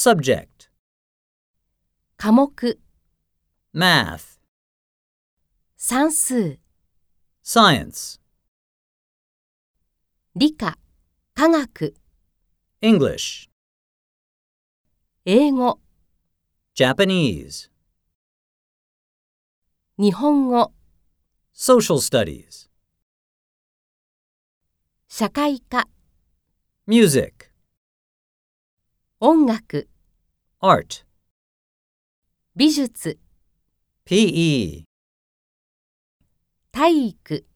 Subject: 科目、 Math, 算数、 Science, 理科、科学、 English, 英語、 Japanese, 日本語、 Social Studies, 社会科、 Music, 音楽、 Art, 美術、 PE, 体育。